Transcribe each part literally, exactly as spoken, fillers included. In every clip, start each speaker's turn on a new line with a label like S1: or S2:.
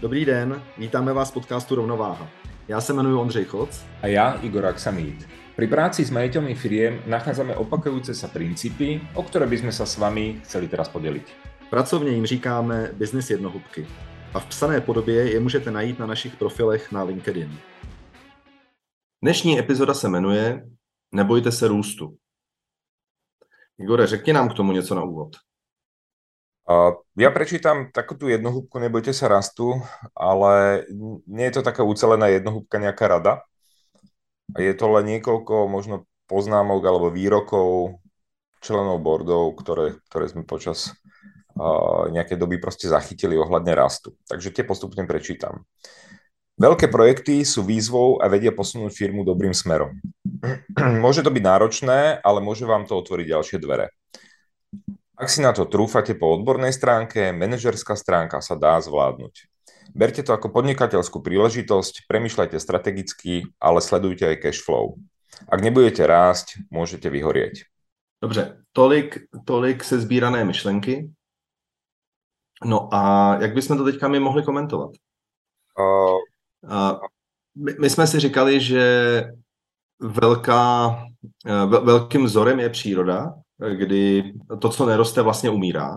S1: Dobrý den, vítáme vás v podcastu Rovnováha. Já se jmenuji Ondřej Choc.
S2: A ja, Igor Aksamit. Pri práci s majiteľmi firiem nachádzame opakujúce sa princípy, o ktoré by sme sa s vami chceli teraz podeliť.
S1: Pracovně jim říkáme business jednohubky. A v psané podobě je můžete najít na našich profilech na LinkedIn. Dnešní epizoda se jmenuje Nebojte se růstu. Igore, řekni nám k tomu něco na úvod.
S2: Uh, ja prečítam takú tú jednohúbku Nebojte sa rastu, ale nie je to taká ucelená jednohúbka, nejaká rada. Je to len niekoľko možno poznámok alebo výrokov členov boardov, ktoré, ktoré sme počas uh, nejakej doby proste zachytili ohľadne rastu. Takže tie postupne prečítam. Veľké projekty sú výzvou a vedia posunúť firmu dobrým smerom. Môže to byť náročné, ale môže vám to otvoriť ďalšie dvere. Ak si na to trúfate po odbornej stránke, manažerská stránka sa dá zvládnuť. Berte to ako podnikateľskú príležitosť, premýšľajte strategicky, ale sledujte aj cash flow. Ak nebudete rásť, môžete vyhorieť.
S1: Dobře, tolik, tolik sezbírané myšlenky. No a jak bychom to teďka my mohli komentovat? Uh, uh, my, my jsme si říkali, že velká, uh, velkým vzorem je příroda, kdy to, co neroste, vlastně umírá.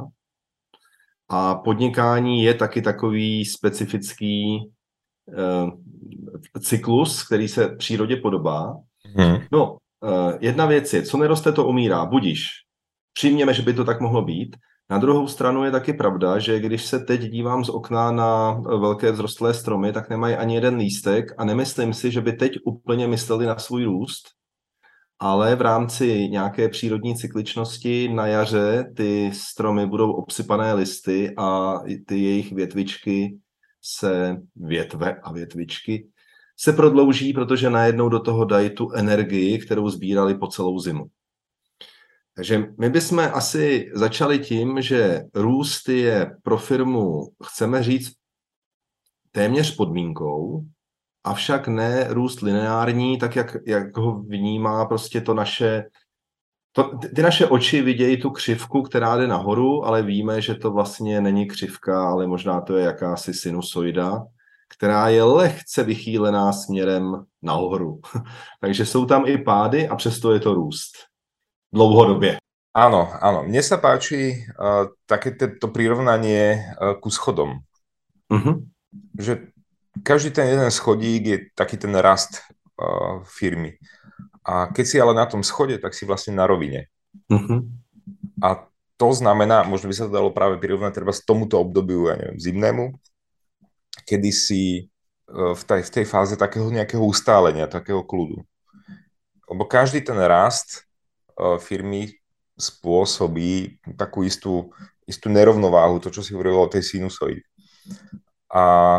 S1: A podnikání je taky takový specifický uh, cyklus, který se přírodě podobá. Hmm. No, uh, jedna věc je, co neroste, to umírá. Budíš. Přijměme, že by to tak mohlo být. Na druhou stranu je taky pravda, že když se teď dívám z okna na velké vzrostlé stromy, tak nemají ani jeden lístek a nemyslím si, že by teď úplně mysleli na svůj růst, ale v rámci nějaké přírodní cykličnosti na jaře ty stromy budou obsypané listy a ty jejich větvičky se, větve a větvičky se prodlouží, protože najednou do toho dají tu energii, kterou sbírali po celou zimu. Takže my bychom asi začali tím, že růst je pro firmu, chceme říct, téměř podmínkou, avšak ne růst lineární, tak jak, jak ho vnímá prostě to naše, to, ty naše oči vidějí tu křivku, která jde nahoru, ale víme, že to vlastně není křivka, ale možná to je jakási sinusoida, která je lehce vychýlená směrem nahoru. Takže jsou tam i pády a přesto je to růst. Dlouhodobě.
S2: Áno, áno. Mne sa páči uh, také to prirovnanie uh, ku schodom. Uh-huh. Že každý ten jeden schodík je taký ten rast uh, firmy. A keď si ale na tom schode, tak si vlastne na rovine. Uh-huh. A to znamená, možno by sa to dalo práve prirovnať treba z tomuto obdobiu, ja neviem, zimnému, kedy si uh, v, tej, v tej fáze takého nejakého ustálenia, takého kľudu. Lebo každý ten rast firmy spôsobí takú istú, istú nerovnováhu, to, čo si hovorilo o tej sinusoide. A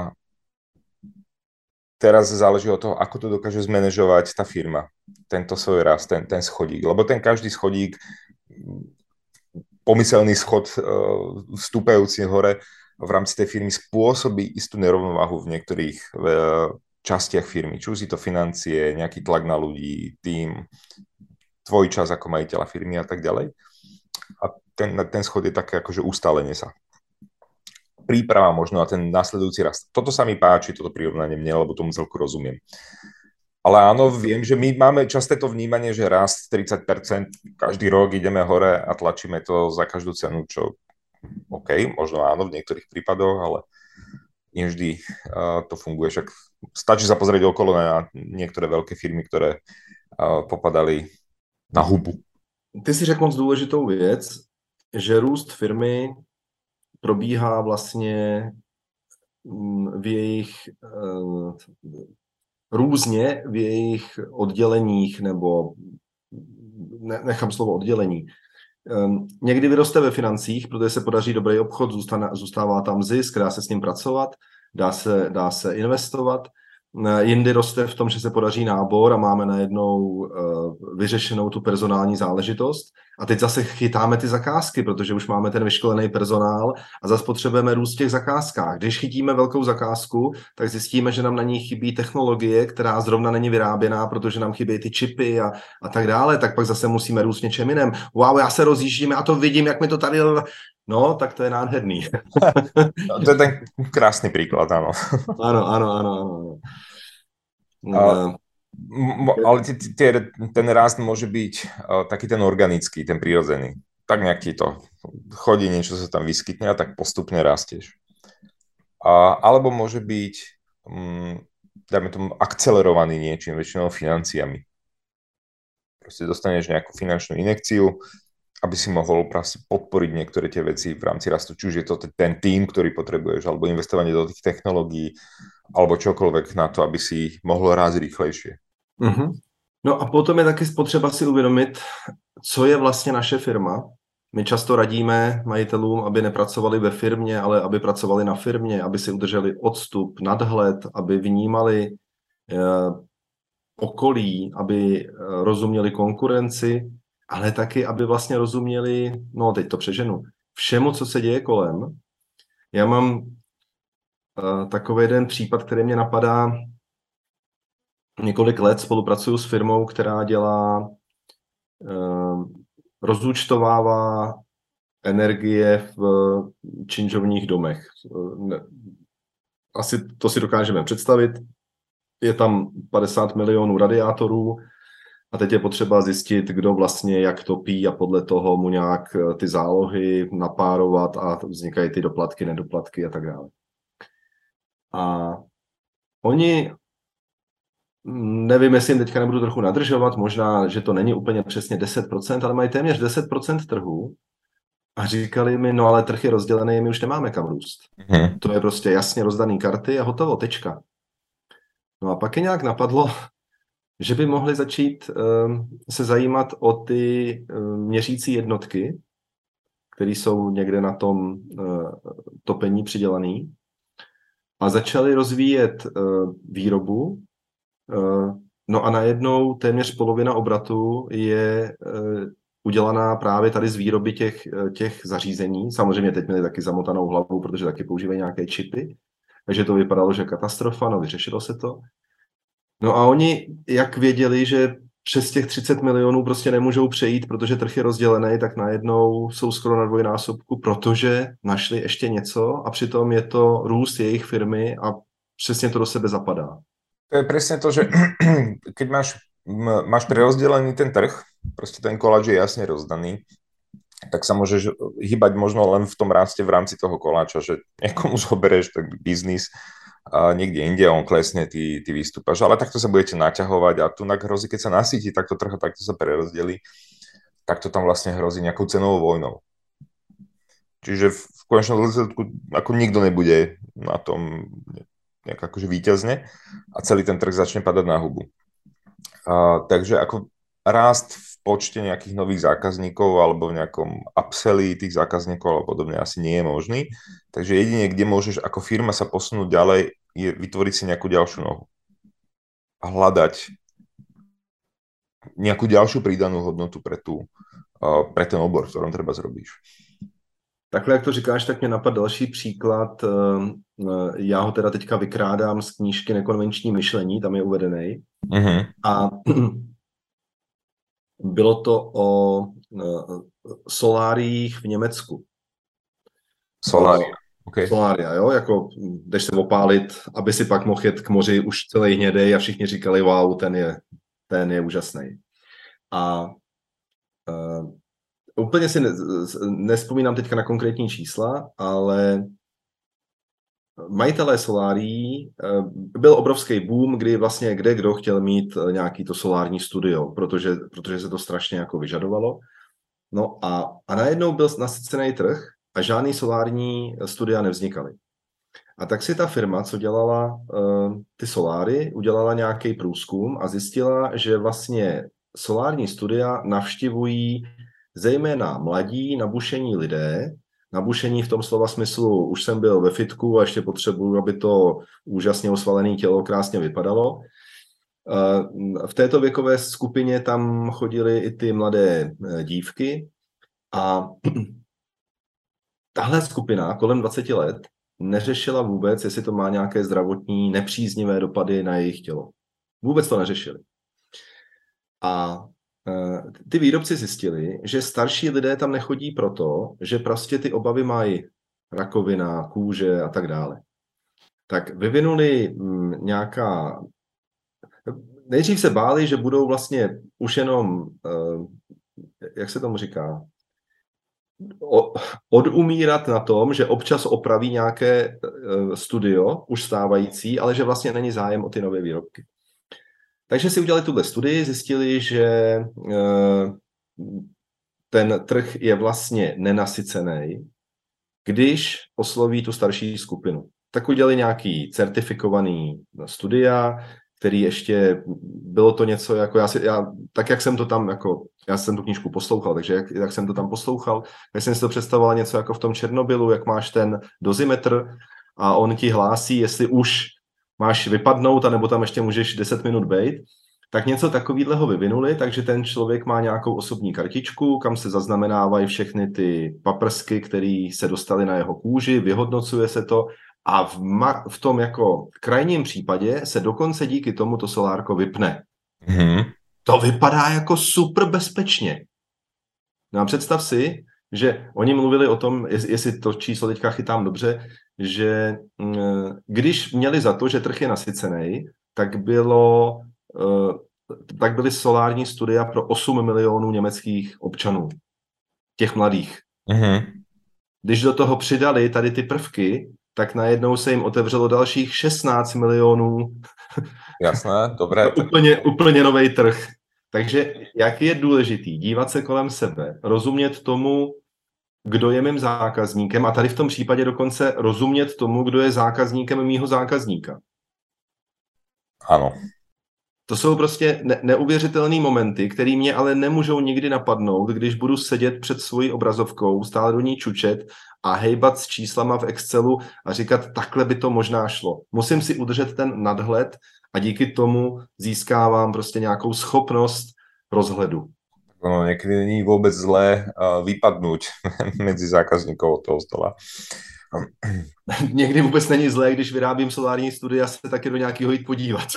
S2: teraz záleží od toho, ako to dokáže zmanéžovať tá firma, tento svoj rast, ten, ten schodík. Lebo ten každý schodík, pomyselný schod vstúpajúci hore v rámci tej firmy spôsobí istú nerovnováhu v niektorých častiach firmy. Či už si to financie, nejaký tlak na ľudí, tým, tvoj čas ako majiteľa firmy a tak ďalej. A ten, ten schod je také akože ustálenie sa. Príprava možno na ten následujúci rast. Toto sa mi páči, toto prirovnanie mne, lebo tomu celku rozumiem. Ale áno, viem, že my máme časté to vnímanie, že rast tridsať percent, každý rok ideme hore a tlačíme to za každú cenu, čo OK, možno áno v niektorých prípadoch, ale nie vždy uh, to funguje. Však stačí sa pozrieť okolo na niektoré veľké firmy, ktoré uh, popadali na hubu.
S1: Ty si řekl moc důležitou věc, že růst firmy probíhá vlastně v jejich různě v jejich odděleních, nebo ne, nechám slovo oddělení. Někdy vyroste ve financích, protože se podaří dobrý obchod, zůstane, zůstává tam zisk, dá se s ním pracovat, dá se, dá se investovat. Jindy roste v tom, že se podaří nábor a máme najednou uh, vyřešenou tu personální záležitost. A teď zase chytáme ty zakázky, protože už máme ten vyškolený personál a zase potřebujeme růst v těch zakázkách. Když chytíme velkou zakázku, tak zjistíme, že nám na ní chybí technologie, která zrovna není vyráběná, protože nám chybí ty čipy a, a tak dále. Tak pak zase musíme růst něčem jiném. Wow, já se rozjíždím, já to vidím, jak mi to tady No, tak to je nádherný.
S2: No, to je ten krásny príklad, áno.
S1: Áno, áno, áno, áno.
S2: Uh, ale t- t- ten rast môže byť uh, taký ten organický, ten prírodzený. Tak nejaký to chodí, niečo sa tam vyskytne a tak postupne rastieš. Uh, alebo môže byť, um, dajme tomu, akcelerovaný niečím, väčšinou financiami. Proste dostaneš nejakú finančnú injekciu, aby si mohol proste podporiť niektoré tie veci v rámci rastu. Či už je to ten tým, ktorý potrebuješ, alebo investovanie do tých technológií, alebo čokoľvek na to, aby si mohlo rásť rýchlejšie.
S1: Mm-hmm. No a potom je taky potřeba si uvědomit, co je vlastně naše firma. My často radíme majitelům, aby nepracovali ve firmě, ale aby pracovali na firmě, aby si udrželi odstup, nadhled, aby vnímali eh, okolí, aby eh, rozuměli konkurenci, ale taky, aby vlastně rozuměli, no teď to přeženu, všemu, co se děje kolem. Já mám uh, takový jeden případ, který mě napadá. Několik let spolupracuju s firmou, která dělá, uh, rozúčtovává energie v činžovních domech. Asi to si dokážeme představit. Je tam padesát milionů radiátorů, a teď je potřeba zjistit, kdo vlastně jak topí a podle toho mu nějak ty zálohy napárovat a vznikají ty doplatky, nedoplatky a tak dále. A oni, nevím, jestli jim teďka nebudu trochu nadržovat, možná, že to není úplně přesně deset procent, ale mají téměř deset procent trhu a říkali mi, no ale trh je rozdělený, my už nemáme kam růst. Hmm. To je prostě jasně rozdaný karty a hotovo, tečka. No a pak je nějak napadlo, že by mohli začít um, se zajímat o ty um, měřící jednotky, které jsou někde na tom uh, topení přidělaný, a začali rozvíjet uh, výrobu. Uh, no a najednou téměř polovina obratu je uh, udělaná právě tady z výroby těch, těch zařízení. Samozřejmě teď měli taky zamotanou hlavu, protože taky používají nějaké čipy, takže to vypadalo, že katastrofa, no vyřešilo se to. No a oni, jak věděli, že přes těch třicet milionů prostě nemůžou přejít, protože trh je rozdělený, tak najednou jsou skoro na dvojnásobku, protože našli ještě něco a přitom je to růst jejich firmy a přesně to do sebe zapadá.
S2: To je presne to, že keď máš, máš prerozdelený ten trh, proste ten koláč je jasne rozdaný, tak sa môžeš hýbať možno len v tom raste v rámci toho koláča, že niekomu zoberieš tak biznis a niekde inde on klesne, ty, ty vystúpaš, ale takto sa budete naťahovať a tu hrozí, keď sa nasíti takto trh a takto sa prerozdelí, tak to tam vlastne hrozí nejakou cenovou vojnou. Čiže v konečnom dôsledku ako nikto nebude na tom nejak akože víťazne a celý ten trh začne padať na hubu. A, takže ako rást v počte nejakých nových zákazníkov alebo v nejakom upselli tých zákazníkov alebo podobne asi nie je možný. Takže jedine, kde môžeš ako firma sa posunúť ďalej, je vytvoriť si nejakú ďalšiu nohu. A hľadať nejakú ďalšiu pridanú hodnotu pre, tú, pre ten obor, v ktorom treba zrobíš.
S1: Takhle, jak to říkáš, tak mě napadl další příklad. Já ho teda teďka vykrádám z knížky Nekonvenční myšlení, tam je uvedený. Uh-huh. A bylo to o soláriích v Německu.
S2: Solária. Okay.
S1: Solária, jo, jako jdeš se opálit, aby si pak mohl jet k moři už celý hnědej a všichni říkali, wow, ten je, ten je úžasný. A uh, úplně si ne, nespomínám teďka na konkrétní čísla, ale majitelé solárií, byl obrovský boom, kdy vlastně kde kdo chtěl mít nějaký to solární studio, protože, protože se to strašně jako vyžadovalo. No a, a najednou byl nasycený trh a žádný solární studia nevznikaly. A tak si ta firma, co dělala uh, ty soláry, udělala nějaký průzkum a zjistila, že vlastně solární studia navštěvují zejména mladí, nabušení lidé, nabušení v tom slova smyslu, už jsem byl ve fitku a ještě potřebuju, aby to úžasně osvalené tělo krásně vypadalo. V této věkové skupině tam chodily i ty mladé dívky a tahle skupina kolem dvacet let neřešila vůbec, jestli to má nějaké zdravotní nepříznivé dopady na jejich tělo. Vůbec to neřešili. A ty výrobci zjistili, že starší lidé tam nechodí proto, že prostě ty obavy mají rakovina, kůže a tak dále. Tak vyvinuli nějaká... Nejdřív se báli, že budou vlastně už jenom, jak se tomu říká, odumírat na tom, že občas opraví nějaké studio, už stávající, ale že vlastně není zájem o ty nové výrobky. Takže si udělali tuhle studii, zjistili, že ten trh je vlastně nenasycený, když osloví tu starší skupinu. Tak udělali nějaký certifikovaný studia, který ještě, bylo to něco jako, já si, já, tak jak jsem to tam, jako, já jsem tu knížku poslouchal, takže jak, jak jsem to tam poslouchal, tak jsem si to představoval něco jako v tom Černobylu, jak máš ten dozimetr a on ti hlásí, jestli už máš vypadnout, anebo tam ještě můžeš deset minut bejt, tak něco takového vyvinuli, takže ten člověk má nějakou osobní kartičku, kam se zaznamenávají všechny ty paprsky, které se dostaly na jeho kůži, vyhodnocuje se to a v, ma- v tom jako krajním případě se dokonce díky tomu to solárko vypne.
S2: Mm-hmm.
S1: To vypadá jako super bezpečně. No a představ si, že oni mluvili o tom, jestli to číslo teďka chytám dobře, že když měli za to, že trh je nasycený, tak bylo... tak byly solární studia pro osm milionů německých občanů, těch mladých.
S2: Mm-hmm.
S1: Když do toho přidali tady ty prvky, tak najednou se jim otevřelo dalších šestnáct milionů.
S2: Jasné, dobré.
S1: úplně, úplně nový trh. Takže jak je důležitý dívat se kolem sebe, rozumět tomu, kdo je mým zákazníkem a tady v tom případě dokonce rozumět tomu, kdo je zákazníkem mýho zákazníka.
S2: Ano.
S1: To jsou prostě ne- neuvěřitelné momenty, které mě ale nemůžou nikdy napadnout, když budu sedět před svojí obrazovkou, stále do ní čučet a hejbat s číslama v Excelu a říkat, takhle by to možná šlo. Musím si udržet ten nadhled a díky tomu získávám prostě nějakou schopnost rozhledu.
S2: No, niekedy není vôbec zlé uh, vypadnúť medzi zákazníkov toho stola.
S1: Někdy vůbec není zlé, když vyrábím solární studia, se taky do nějakého jít podívat.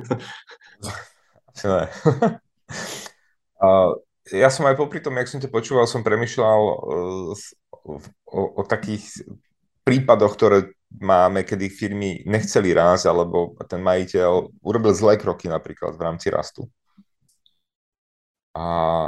S2: Asi ne. uh, ja som aj popri tom, jak som to počúval, som premýšľal uh, o, o takých prípadoch, ktoré máme, kedy firmy nechceli rásť, alebo ten majiteľ urobil zlé kroky napríklad v rámci rastu. A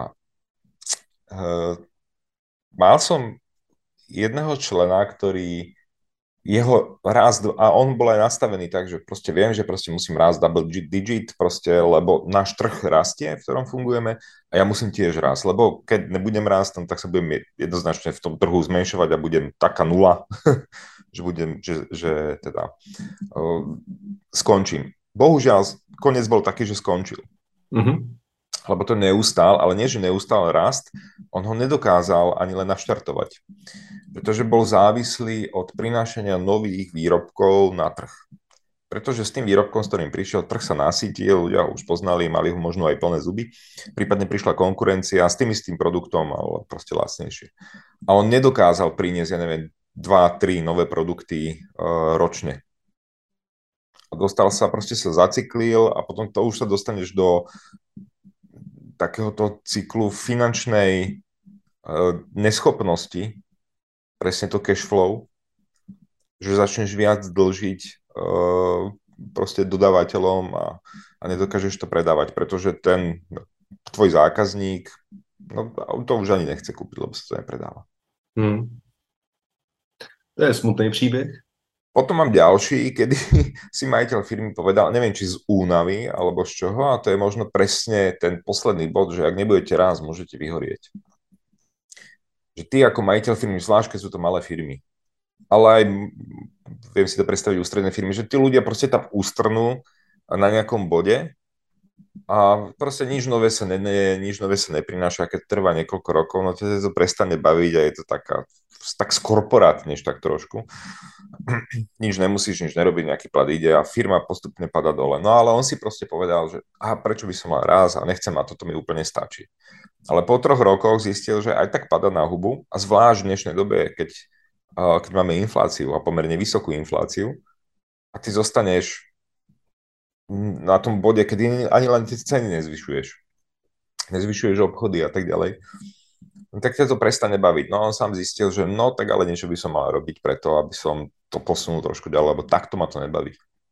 S2: uh, mal som jedného člena, ktorý jeho rast, a on bol aj nastavený tak, že proste viem, že proste musím rásť double digit, proste, lebo náš trh rastie, v ktorom fungujeme a ja musím tiež rásť, lebo keď nebudem rásť, tak sa budem jednoznačne v tom trhu zmenšovať a budem taká nula, že budem, že, že teda uh, skončím. Bohužiaľ, koniec bol taký, že skončil.
S1: Mm-hmm.
S2: Lebo to neustál, ale nie, že neustál rast, on ho nedokázal ani len naštartovať. Pretože bol závislý od prinášania nových výrobkov na trh. Pretože s tým výrobkom, s ktorým prišiel, trh sa nasytil, ľudia ho už poznali, mali ho možno aj plné zuby, prípadne prišla konkurencia s tým istým produktom, ale proste lacnejšie. A on nedokázal priniesť, ja neviem, dva, tri nové produkty uh, ročne. A dostal sa, proste sa zacyklil a potom to už sa dostaneš do takéhoto cyklu finančnej uh, neschopnosti, presne to cash flow, že začneš viac dlžiť uh, proste dodávateľom a, a nedokážeš to predávať, pretože ten tvoj zákazník, no to už ani nechce kúpiť, lebo sa to nepredáva.
S1: Hmm. To je smutný príbeh.
S2: Potom mám ďalší, kedy si majiteľ firmy povedal, neviem, či z únavy, alebo z čoho, a to je možno presne ten posledný bod, že ak nebudete raz, môžete vyhorieť. Že ty ako majiteľ firmy, zvlášť keď sú to malé firmy, ale aj viem si to predstaviť ústredné firmy, že tí ľudia proste tam ústrnú na nejakom bode a proste nič nové sa ne, ne, nič nové sa neprináša, keď trvá niekoľko rokov, no to to prestane baviť a je to taká, tak skorporátneš tak trošku. Nič nemusíš, nič nerobiť, nejaký plat ide a firma postupne pada dole. No ale on si proste povedal, že aha, prečo by som mal raz a nechcem a toto mi úplne stačí. Ale po troch rokoch zistil, že aj tak pada na hubu a zvlášť v dnešnej dobe, keď, uh, keď máme infláciu a pomerne vysokú infláciu a ty zostaneš na tom bode, kedy ani len tie ceny nezvyšuješ. nezvyšuješ obchody a tak ďalej, tak ťa to prestane baviť. No on sám zistil, že no tak ale niečo by som mal robiť preto, aby som to posunul trošku ďalej, lebo takto ma to nebaví.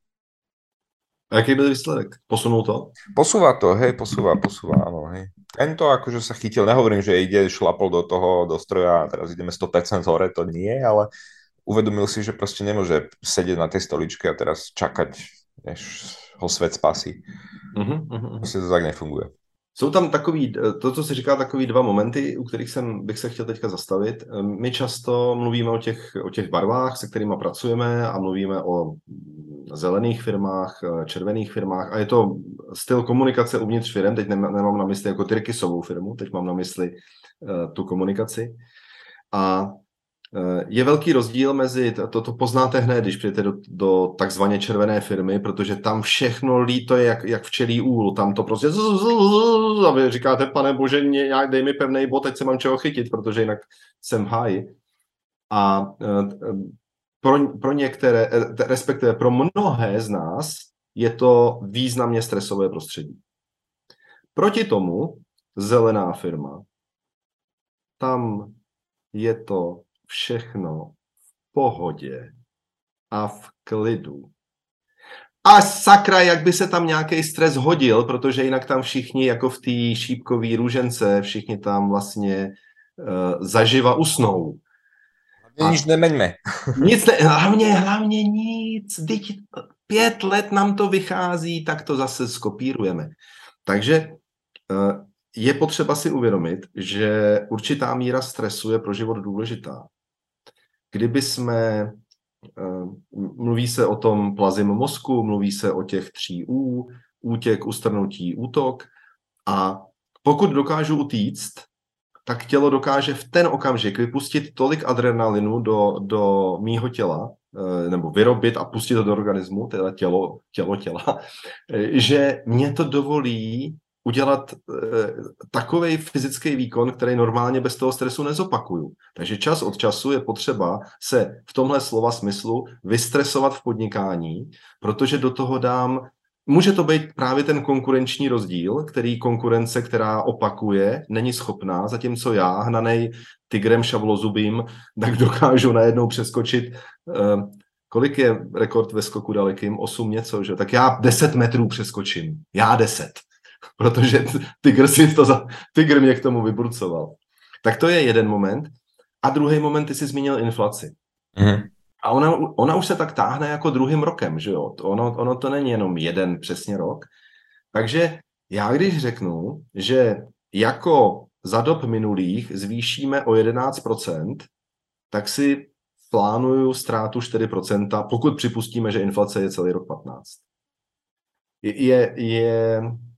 S1: A jaký byl výsledek? Posunul to?
S2: Posúva to, hej, posúva, posúva, áno, hej. Len to akože sa chytil, nehovorím, že ide, šlapol do toho, do stroja a teraz ideme sto percent hore, to nie, ale uvedomil si, že proste nemôže sedieť na tej stoličke a teraz čakať, než ho svet spasí.
S1: Uh-huh, uh-huh.
S2: Proste to tak nefunguje.
S1: Jsou tam takový, to, co se říká, takový dva momenty, u kterých jsem, bych se chtěl teďka zastavit. My často mluvíme o těch, o těch barvách, se kterými pracujeme a mluvíme o zelených firmách, červených firmách a je to styl komunikace uvnitř firm, teď nemám na mysli jako Tyrkisovou firmu, teď mám na mysli uh, tu komunikaci. A je velký rozdíl mezi, to, to poznáte hned, když přijete do, do takzvaně červené firmy, protože tam všechno líto je jak, jak včelí úl, tam to prostě a vy říkáte, pane bože, nějak dej mi pevnej bod, teď se mám čeho chytit, protože jinak jsem v háji. A pro, pro některé, respektive pro mnohé z nás je to významně stresové prostředí. Proti tomu zelená firma, tam je to všechno v pohodě a v klidu. A sakra, jak by se tam nějaký stres hodil, protože jinak tam všichni, jako v té šípkové růžence, všichni tam vlastně uh, zaživa usnou.
S2: A nic nemeňme.
S1: Nic ne, hlavně, hlavně nic. Teď pět let nám to vychází, tak to zase skopírujeme. Takže uh, je potřeba si uvědomit, že určitá míra stresu je pro život důležitá. Kdyby jsme, mluví se o tom plazím mozku, mluví se o těch tří U, útěk, ustrnutí, útok a pokud dokážu utíct, tak tělo dokáže v ten okamžik vypustit tolik adrenalinu do, do mýho těla, nebo vyrobit a pustit to do organismu, teda tělo, tělo těla, že mě to dovolí udělat e, takovej fyzický výkon, který normálně bez toho stresu nezopakuju. Takže čas od času je potřeba se v tomhle slova smyslu vystresovat v podnikání, protože do toho dám, může to být právě ten konkurenční rozdíl, který konkurence, která opakuje, není schopná, zatímco já, hnanej tigrem šavlozubým, tak dokážu najednou přeskočit, e, kolik je rekord ve skoku dalekým? osm něco, že? Tak já deset metrů přeskočím. Já deset. Protože tygr, si to za, tygr mě k tomu vybrucoval. Tak to je jeden moment. A druhý moment, ty jsi zmínil inflaci. Mm. A ona, ona už se tak táhne jako druhým rokem, že jo? Ono, ono to není jenom jeden přesně rok. Takže já když řeknu, že jako za dob minulých zvýšíme o jedenáct procent, tak si plánuju ztrátu čtyři procenta, pokud připustíme, že inflace je celý rok patnáct. Je... je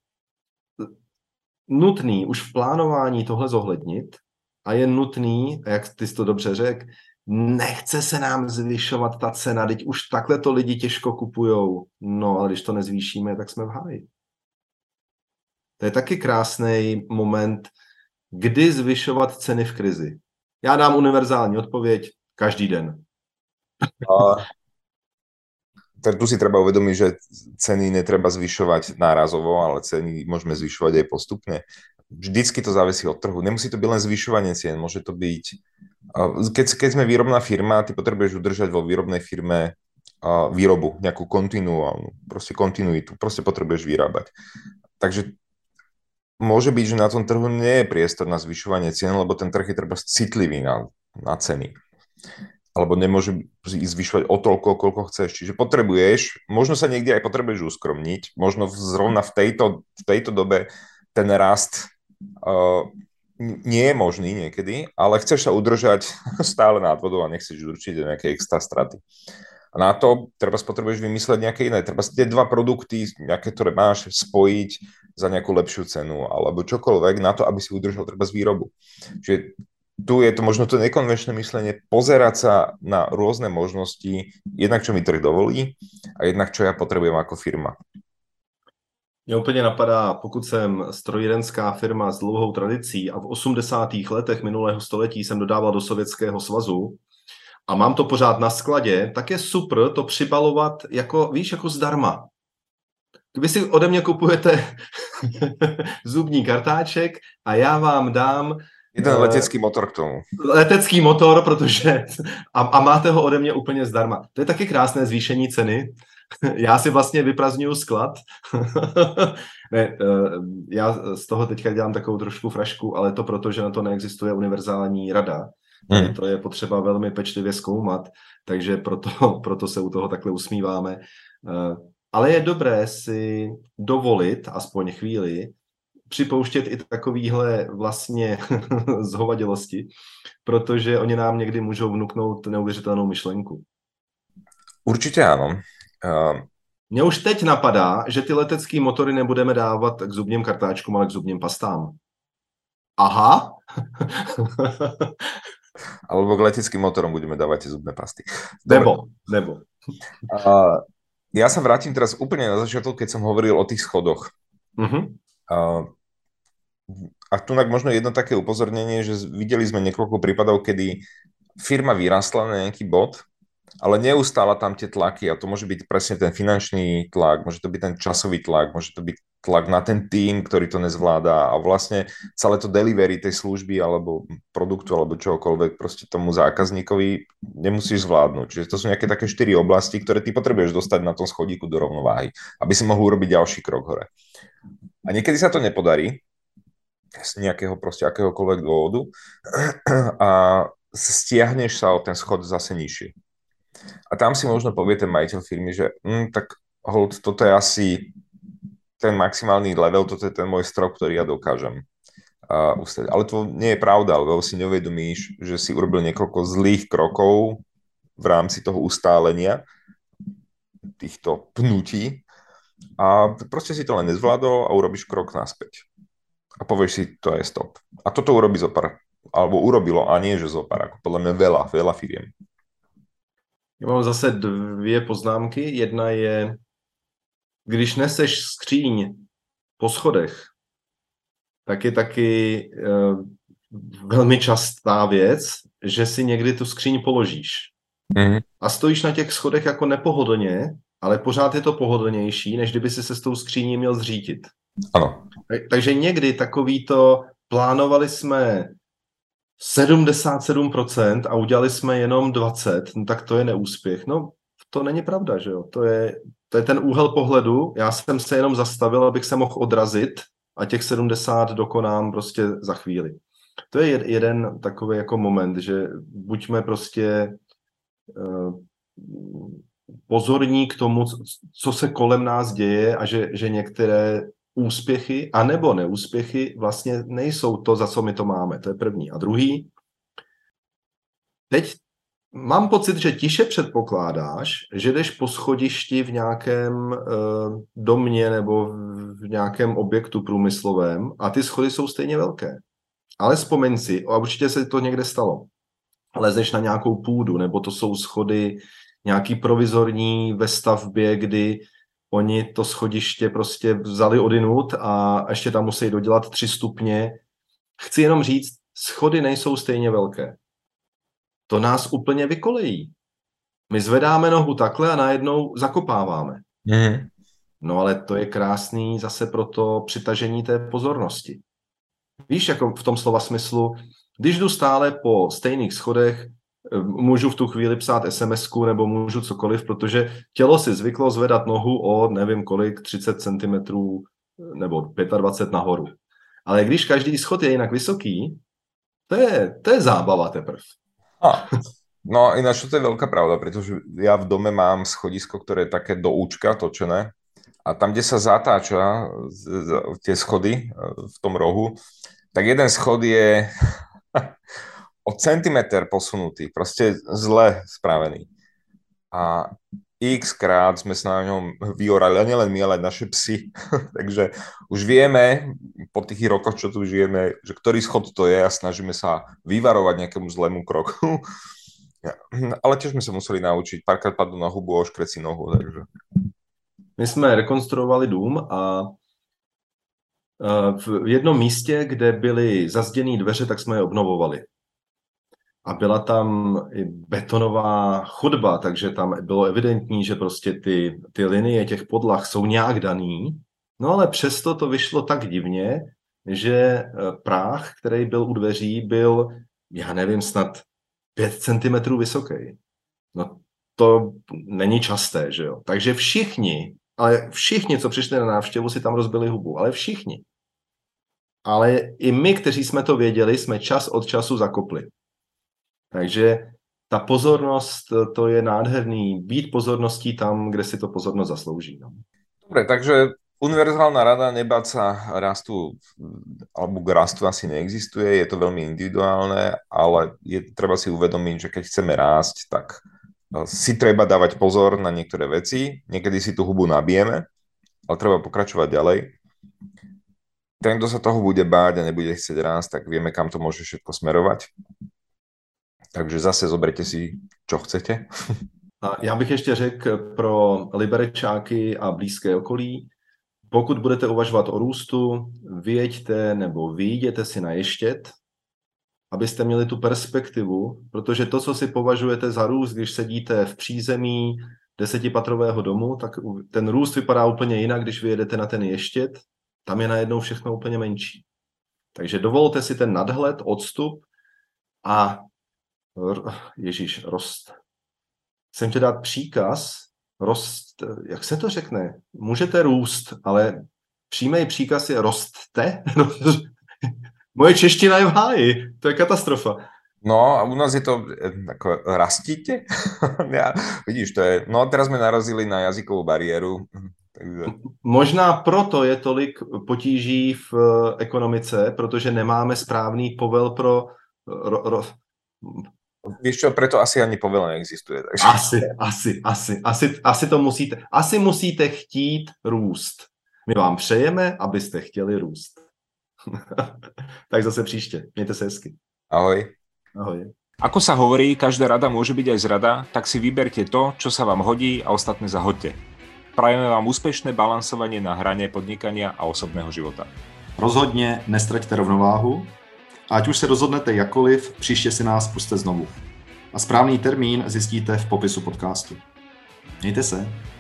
S1: nutný už v plánování tohle zohlednit a je nutný, jak ty jsi to dobře řekl, nechce se nám zvyšovat ta cena, teď už takhle to lidi těžko kupujou. No, ale když to nezvýšíme, tak jsme v háji. To je taky krásný moment, kdy zvyšovat ceny v krizi. Já dám univerzální odpověď každý den.
S2: A tak tu si treba uvedomiť, že ceny netreba zvyšovať nárazovo, ale ceny môžeme zvyšovať aj postupne. Vždycky to závisí od trhu. Nemusí to byť len zvyšovanie cien, môže to byť... Keď, keď sme výrobná firma, ty potrebuješ udržať vo výrobnej firme výrobu, nejakú kontinuálnu, proste kontinuitu, proste potrebuješ vyrábať. Takže môže byť, že na tom trhu nie je priestor na zvyšovanie cien, lebo ten trh je treba citlivý na, na ceny. Alebo nemôže ísť zvyšovať o toľko, koľko chceš. Čiže potrebuješ, možno sa niekde aj potrebuješ uskromniť, možno zrovna v tejto, v tejto dobe ten rast uh, nie je možný niekedy, ale chceš sa udržať stále nad vodou a nechceš určite nejaké extra straty. A na to treba potrebuješ vymysleť nejaké iné. Treba tie dva produkty, nejaké, ktoré máš, spojiť za nejakú lepšiu cenu alebo čokoľvek na to, aby si udržal treba z výrobu. Čiže tu je to možno to nekonvenčné myslenie, pozerať sa na rôzne možnosti, jednak čo mi trh dovolí a jednak čo ja potrebujem ako firma.
S1: Mě úplně napadá, pokud jsem strojírenská firma s dlouhou tradicí a v osmdesátých letech minulého století jsem dodával do Sovětského svazu a mám to pořád na skladě, tak je super to přibalovat jako, víš, jako zdarma. Vy si ode mě kupujete zubní kartáček a já vám dám
S2: jeden uh, letecký motor k tomu.
S1: Letecký motor, protože a, a máte ho ode mě úplně zdarma. To je taky krásné zvýšení ceny. Já si vlastně vyprazňuju sklad. Ne, já z toho teďka dělám takovou trošku frašku, ale to proto, že na to neexistuje univerzální rada. Hmm. To je potřeba velmi pečlivě zkoumat, takže proto, proto se u toho takhle usmíváme. Ale je dobré si dovolit, aspoň chvíli, připouštět i takovýhle vlastně zhovadilosti, protože oni nám někdy můžou vnuknout neuvěřitelnou myšlenku.
S2: Určitě ano. Uh...
S1: Mně už teď napadá, že ty letecké motory nebudeme dávat k zubním kartáčkům, ale k zubním pastám. Aha.
S2: Alebo k leteckým motorom budeme dávať tie zubné pasty.
S1: Dobre. Nebo, nebo.
S2: Uh, ja sa vrátim teraz úplne na začiatok, keď som hovoril o tých schodoch.
S1: Uh-huh.
S2: Uh, a tu možno jedno také upozornenie, že videli sme niekoľko prípadov, kedy firma vyrastla na nejaký bod, ale neustála tam tie tlaky a to môže byť presne ten finančný tlak, môže to byť ten časový tlak, môže to byť tlak na ten tým, ktorý to nezvládá a vlastne celé to delivery tej služby alebo produktu alebo čokoľvek proste tomu zákazníkovi nemusíš zvládnuť. Čiže to sú nejaké také štyri oblasti, ktoré ty potrebuješ dostať na tom schodíku do rovnováhy, aby si mohol urobiť ďalší krok hore. A niekedy sa to nepodarí z nejakého proste akéhokoľvek dôvodu a stiahneš sa o ten schod zase nižšie. A tam si možno povie ten majiteľ firmy, že hm, tak hold, toto je asi ten maximálny level, toto je ten môj strop, ktorý ja dokážem uh, ustať. Ale to nie je pravda, lebo si neuvedomíš, že si urobil niekoľko zlých krokov v rámci toho ustálenia, týchto pnutí a proste si to len nezvládol a urobíš krok naspäť. A povieš si, to je stop. A toto urobí zopár, alebo urobilo, a nie že zopár, ako podľa mňa veľa, veľa firiem.
S1: Já mám zase dvě poznámky. Jedna je, když neseš skříň po schodech, tak je taky e, velmi častá věc, že si někdy tu skříň položíš.
S2: Mm.
S1: A stojíš na těch schodech jako nepohodlně, ale pořád je to pohodlnější, než kdyby si se s tou skříní měl zřítit.
S2: Ano.
S1: Takže někdy takový to, plánovali jsme sedmdesát sedm procent a udělali jsme jenom dvacet procent, no tak to je neúspěch. No, to není pravda, že jo? To je, to je ten úhel pohledu. Já jsem se jenom zastavil, abych se mohl odrazit a těch sedmdesát dokonám prostě za chvíli. To je jeden takový jako moment, že buďme prostě uh, pozorní k tomu, co se kolem nás děje a že, že některé úspěchy anebo neúspěchy vlastně nejsou to, za co my to máme. To je první. A druhý, teď mám pocit, že tiše předpokládáš, že jdeš po schodišti v nějakém e, domě nebo v nějakém objektu průmyslovém a ty schody jsou stejně velké. Ale vzpomeň si, a určitě se to někde stalo, lezeš na nějakou půdu, nebo to jsou schody nějaký provizorní ve stavbě, kdy oni to schodiště prostě vzali odinut a ještě tam musí dodělat tři stupně. Chci jenom říct, schody nejsou stejně velké. To nás úplně vykolejí. My zvedáme nohu takhle a najednou zakopáváme.
S2: Mm.
S1: No ale to je krásný zase pro to přitažení té pozornosti. Víš, jako v tom slova smyslu, když jdu stále po stejných schodech, můžu v tu chvíli psát es em esku nebo můžu cokoliv, protože tělo si zvyklo zvedat nohu o nevím kolik, třicet centimetrů nebo dvacet pět nahoru. Ale když každý schod je jinak vysoký, to je, to je zábava teprv.
S2: A, no ináč to je veľká pravda, pretože ja v dome mám schodisko, ktoré je také do účka točené a tam, kde sa zatáča tie schody v tom rohu, tak jeden schod je o centimeter posunutý, proste zle spravený. A x krát sme sa na ňom vyorali, a nielen my, ale aj naše psy. Takže už vieme, po tých rokoch, čo tu žijeme, že ktorý schod to je a snažíme sa vyvarovať nejakému zlému kroku. Ale tiež sme sa museli naučiť, párkrát padnú na hubu a oškreť si nohu. Takže.
S1: My jsme rekonstruovali dům a v jednom místě, kde byly zazděné dveře, tak jsme je obnovovali. A byla tam i betonová chodba, takže tam bylo evidentní, že prostě ty, ty linie těch podlah jsou nějak daný No ale přesto to vyšlo tak divně, že práh, který byl u dveří, byl, já nevím, snad pět centimetrů vysoký. No to není časté, že jo. Takže všichni, ale všichni, co přišli na návštěvu, si tam rozbili hubu, ale všichni. Ale i my, kteří jsme to věděli, jsme čas od času zakopli. Takže ta pozornost, to je nádherný, být pozorností tam, kde si to pozornost zaslouží. No.
S2: Dobre, takže univerzálna rada nebáť sa rastu, alebo k rastu asi neexistuje, je to veľmi individuálne, ale je treba si uvedomiť, že keď chceme rásť, tak si treba dávať pozor na niektoré veci, niekedy si tú hubu nabijeme, ale treba pokračovať ďalej. Ten, kto sa toho bude báť a nebude chcieť rásť, tak vieme, kam to môže všetko smerovať. Takže zase zoberte si, čo chcete.
S1: A já bych ještě řekl pro liberečáky a blízké okolí, pokud budete uvažovat o růstu, vyjeďte nebo vyjděte si na ještět, abyste měli tu perspektivu, protože to, co si považujete za růst, když sedíte v přízemí desetipatrového domu, tak ten růst vypadá úplně jinak, když vyjedete na ten ještět, tam je najednou všechno úplně menší. Takže dovolte si ten nadhled, odstup a Ježíš, rost. Chcem ti dát příkaz, rost, jak se to řekne? Můžete růst, ale přímý příkaz je rostte. Moje čeština je v háji, to je katastrofa.
S2: No a u nás je to ako rastíte? Ja, vidíš, to je, no teraz sme narazili na jazykovú bariéru. Takže...
S1: Možná proto je tolik potíží v ekonomice, protože nemáme správný povel pro... Ro, ro,
S2: Víš čo, preto asi ani povel neexistuje. Takže...
S1: Asi, asi, asi, asi, asi to musíte, asi musíte chtít růst. My vám přejeme, abyste chtěli růst. Tak zase příště. Mějte se hezky.
S2: Ahoj.
S1: Ahoj.
S3: Ako sa hovorí, každá rada môže byť aj zrada, tak si vyberte to, čo sa vám hodí a ostatné zahoďte. Prajeme vám úspešné balansovanie na hrane podnikania a osobného života.
S4: Rozhodně nestraťte rovnováhu. A ať už se rozhodnete jakkoliv, příště si nás pusťte znovu. A správný termín zjistíte v popisu podcastu. Mějte se.